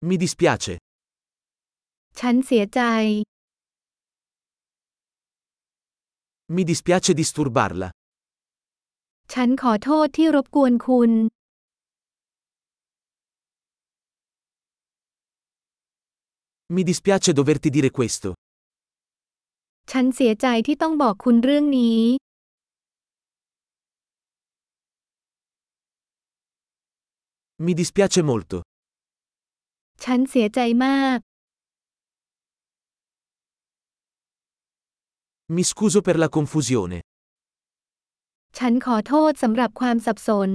Mi dispiace. ฉันเสียใจ Mi dispiace disturbarla. ฉันขอโทษที่รบกวนคุณ Mi dispiace doverti dire questo. ฉันเสียใจที่ต้องบอกคุณเรื่องนี้ Mi dispiace molto. ฉันเสียใจมาก Mi scuso per la confusione. ฉันขอโทษสำหรับความสับสน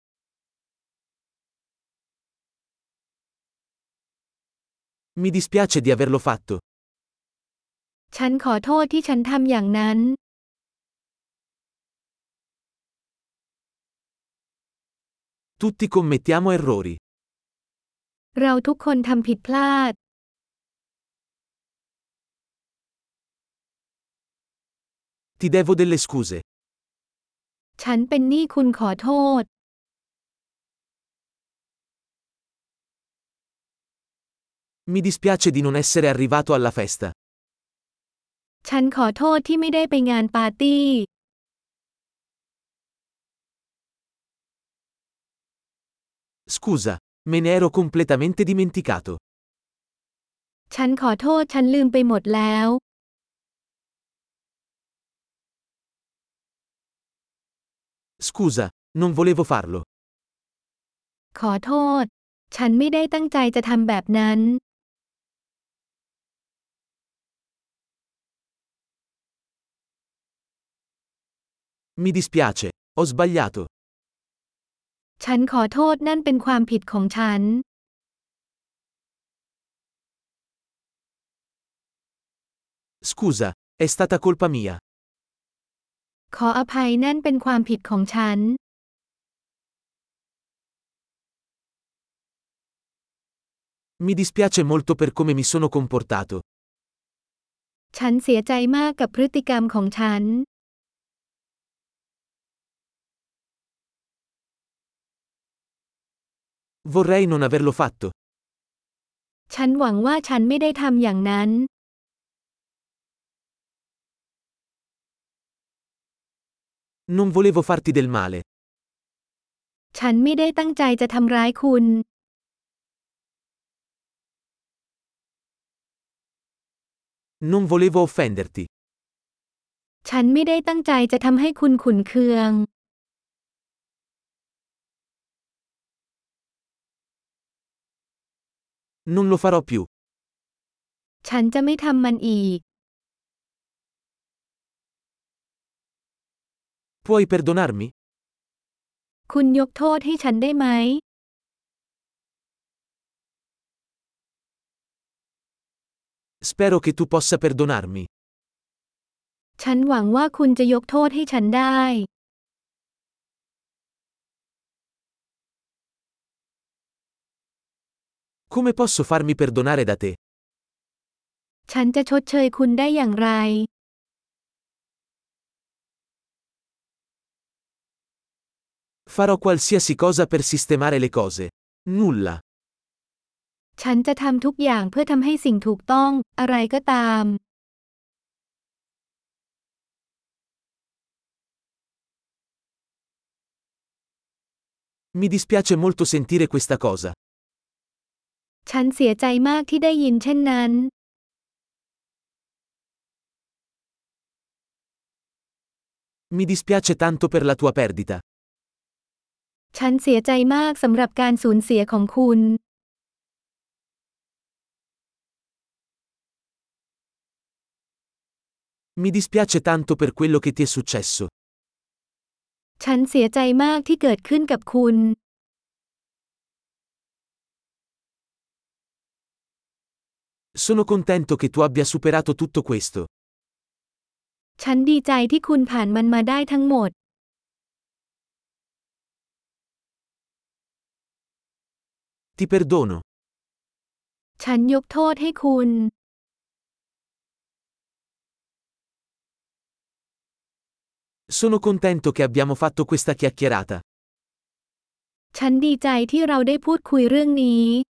Mi dispiace di averlo fatto. ฉันขอโทษที่ฉันทำอย่างนั้น Tutti commettiamo errori. เราทุกคนทำผิดพลาด Ti devo delle scuse. ฉันเป็นหนี้คุณขอโทษ Mi dispiace di non essere arrivato alla festa. ฉันขอโทษที่ไม่ได้ไปงานปาร์ตี้ Scusa, me ne ero completamente dimenticato. ฉันขอโทษฉันลืมไปหมดแล้ว Scusa, non volevo farlo. ขอโทษ ฉันไม่ได้ตั้งใจจะทำแบบนั้น Mi dispiace, ho sbagliato. ฉันขอโทษนั่นเป็นความผิดของฉัน Scusa, è stata colpa mia. ขออภัยนั่นเป็นความผิดของฉัน Mi dispiace molto per come mi sono comportato. ฉันเสียใจมากกับพฤติกรรมของฉัน Vorrei non averlo fatto. ฉันหวังว่าฉันไม่ได้ทำอย่างนั้น Non volevo farti del male. ฉันไม่ได้ตั้งใจจะทำร้ายคุณ Non volevo offenderti. ฉันไม่ได้ตั้งใจจะทำให้คุณขุ่นเคือง Non lo farò più. ฉันจะไม่ทำมันอีก Puoi perdonarmi? คุณยกโทษให้ฉันได้ไหม Spero che tu possa perdonarmi. ฉันหวังว่าคุณจะยกโทษให้ฉันได้ Come posso farmi perdonare da te? ฉันจะชดเชยคุณได้อย่างไร Farò qualsiasi cosa per sistemare le cose. Nulla. ฉันจะทำทุกอย่างเพื่อทำให้สิ่งถูกต้อง อะไรก็ตาม Mi dispiace molto sentire questa cosa. ฉันเสียใจมากที่ได้ยินเช่นนั้น Mi dispiace tanto per la tua perdita. ฉันเสียใจมากสำหรับการสูญเสียของคุณ Mi dispiace tanto per quello che ti è successo. ฉันเสียใจมากที่เกิดขึ้นกับคุณ Sono contento che tu abbia superato tutto questo. ฉันดีใจที่คุณผ่านมันมาได้ทั้งหมด Ti perdono. ฉันยกโทษให้คุณ Sono contento che abbiamo fatto questa chiacchierata. ฉันดีใจที่เราได้พูดคุยเรื่องนี้